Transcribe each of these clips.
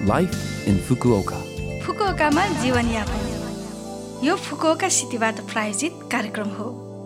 Life in Fukuoka. फुकुओकामा जीवनयापन यो Fukuoka सिटीबाट प्रायोजित कार्यक्रम हो।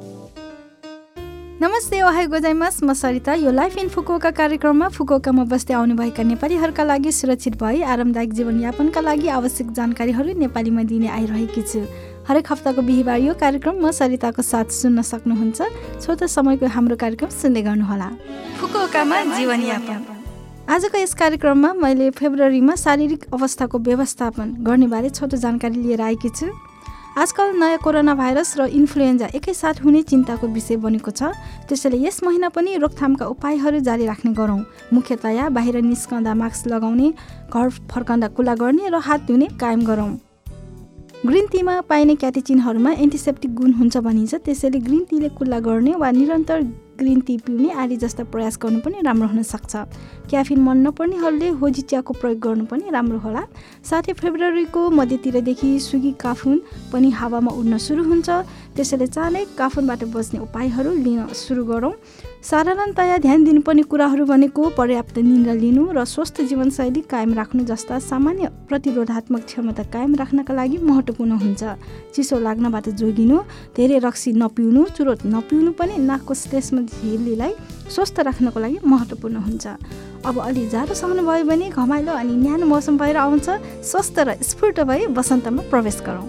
नमस्ते, ओहाई गोजाइमास, म सरिता। यो लाइफ इन फुकुओका कार्यक्रममा फुकुओकामा बस्दै आउनुभएका नेपालीहरूका लागि सुरक्षित भई आरामदायक जीवनयापनका लागि आवश्यक जानकारीहरू नेपालीमा दिने आइरहेकी छु। हरेक हप्ताको बिहिबार यो कार्यक्रम म सरिताको साथ सुन्न सक्नुहुन्छ। छोटो समयको हाम्रो कार्यक्रम सुन्दै गर्नुहोला। फुकुओकामा जीवनयापन। आजको यस कार्यक्रममा मैले फेब्रुअरीमा शारीरिक अवस्थाको व्यवस्थापन गर्ने बारे छोटो जानकारी लिएर आएकी छु। आजकल नयाँ कोरोना भाइरस र इन्फ्लुएन्जा एकैसाथ हुने चिन्ताको विषय बनेको छ। त्यसैले यस महिना पनि रोकथामका उपायहरू जारी राख्ने गरौँ। मुख्यतया बाहिर निस्कँदा मास्क लगाउने, घर फर्कँदा कुल्ला गर्ने र हात धुने कायम गरौँ। ग्रिन टीमा पाइने क्याटेचिनहरूमा एन्टिसेप्टिक गुण हुन्छ भनिन्छ। त्यसैले ग्रिन टीले कुल्ला गर्ने वा निरन्तर ग्रिन टी पिउने आदि जस्ता प्रयास गर्नु पनि राम्रो हुन सक्छ। क्याफिन मन नपर्नेहरूले होजी चियाको प्रयोग गर्नु पनि राम्रो होला। साथै फेब्रुअरीको मध्यतिरदेखि सुगी काफुन पनि हावामा उड्न सुरु हुन्छ। त्यसैले चाँडै काफुनबाट बच्ने उपायहरू लिन सुरु गरौँ। साधारणतया ध्यान दिनुपर्ने कुराहरू भनेको पर्याप्त निद्रा लिनु र स्वस्थ जीवनशैली कायम राख्नु जस्ता सामान्य प्रतिरोधात्मक क्षमता कायम राख्नका लागि महत्त्वपूर्ण हुन्छ। चिसो लाग्नबाट जोगिनु, धेरै रक्सी नपिउनु, चुरोट नपिउनु पनि नाकको श्लेष्म झिल्लीलाई स्वस्थ राख्नको लागि महत्त्वपूर्ण हुन्छ। अब अलि जाडो सहनु भयो भने घमाइलो अनि न्यानो मौसम भएर आउँछ। स्वस्थ र स्फूर्त भई वसन्तमा प्रवेश गरौँ।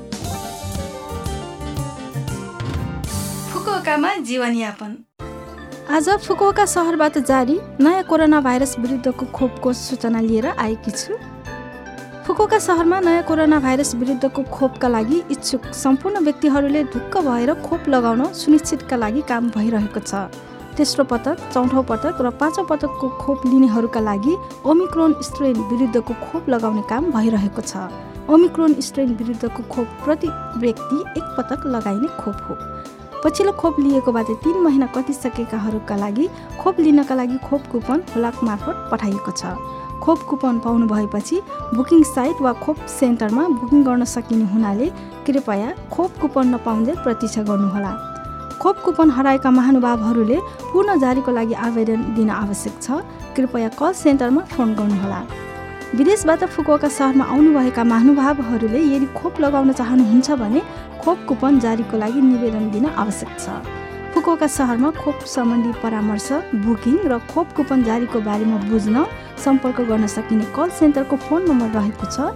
फुकुओकामा जीवनयापन। आज फुकुओका सहरबाट जारी नयाँ कोरोना भाइरस विरुद्धको खोपको सूचना लिएर आएकी छु। फुकुओका सहरमा नयाँ कोरोना भाइरस विरुद्धको खोपका लागि इच्छुक सम्पूर्ण व्यक्तिहरूले ढुक्क भएर खोप लगाउन सुनिश्चितका लागि काम भइरहेको छ। तेस्रो पटक, चौथो पटक र पाँचौँ पटकको खोप लिनेहरूका लागि ओमिक्रोन स्ट्रेन विरुद्धको खोप लगाउने काम भइरहेको छ। ओमिक्रोन स्ट्रेन विरुद्धको खोप प्रति व्यक्ति एक पटक लगाइने खोप हो। पछिल्लो खोप लिएकोबाट 3 महिना कटिसकेकाहरूका लागि खोप लिनका लागि खोप कुपन हुलाक मार्फत पठाइएको छ। खोप कुपन पाउनु भएपछि बुकिङ साइट वा खोप सेन्टरमा बुकिङ गर्न सकिने हुनाले कृपया खोप कुपन नपाउँदै प्रतीक्षा गर्नुहोला। खोप कुपन हराएका महानुभावहरूले पुनः जारीको लागि आवेदन दिन आवश्यक छ। कृपया कल सेन्टरमा फोन गर्नुहोला। विदेशबाट फुकुओका सहरमा आउनुभएका महानुभावहरूले यदि खोप लगाउन चाहनुहुन्छ भने खोप कुपन जारीको लागि निवेदन दिन आवश्यक छ। फुकुओका सहरमा खोप सम्बन्धी परामर्श, बुकिङ र खोप कुपन जारीको बारेमा बुझ्न सम्पर्क गर्न सकिने कल सेन्टरको फोन नम्बर रहेको छ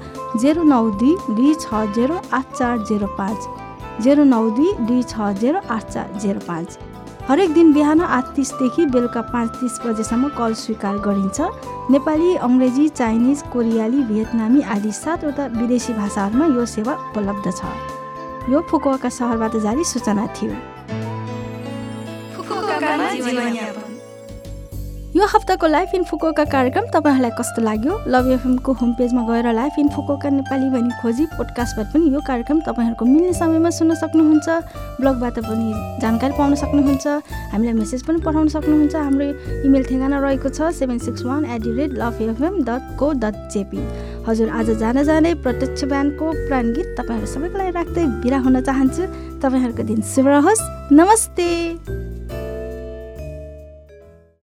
092-260-8405 092-260-8405। हरेक दिन बिहान 8:30 देखि बेलुका 5:30 बजेसम्म कल स्वीकार गरिन्छ। नेपाली, अङ्ग्रेजी, चाइनिज, कोरियाली, भियतनामी आदि 7वटा विदेशी भाषाहरूमा यो सेवा उपलब्ध छ। यो फुकुओका सहरबाट जारी सूचना थियो। यो हप्ताको लाइफ इन फुकुओका कार्यक्रम तपाईँहरूलाई कस्तो लाग्यो? लभ एफएमको होम पेजमा गएर लाइफ इन फुकुओका नेपाली भनी खोजी पोडकास्टबाट पनि यो कार्यक्रम तपाईँहरूको मिल्ने समयमा सुन्न सक्नुहुन्छ। ब्लगबाट पनि जानकारी पाउन सक्नुहुन्छ। हामीलाई मेसेज पनि पठाउन सक्नुहुन्छ। हाम्रो इमेल ठेगाना रहेको छ 761@lovefm.co.jp। हजुर, आज जाँदै प्रत्यक्ष ब्यान्डको प्राण गीत तपाईँहरू सबैको लागि राख्दै बिदा हुन चाहन्छु। तपाईँहरूको दिन शुभ रहोस्। नमस्ते।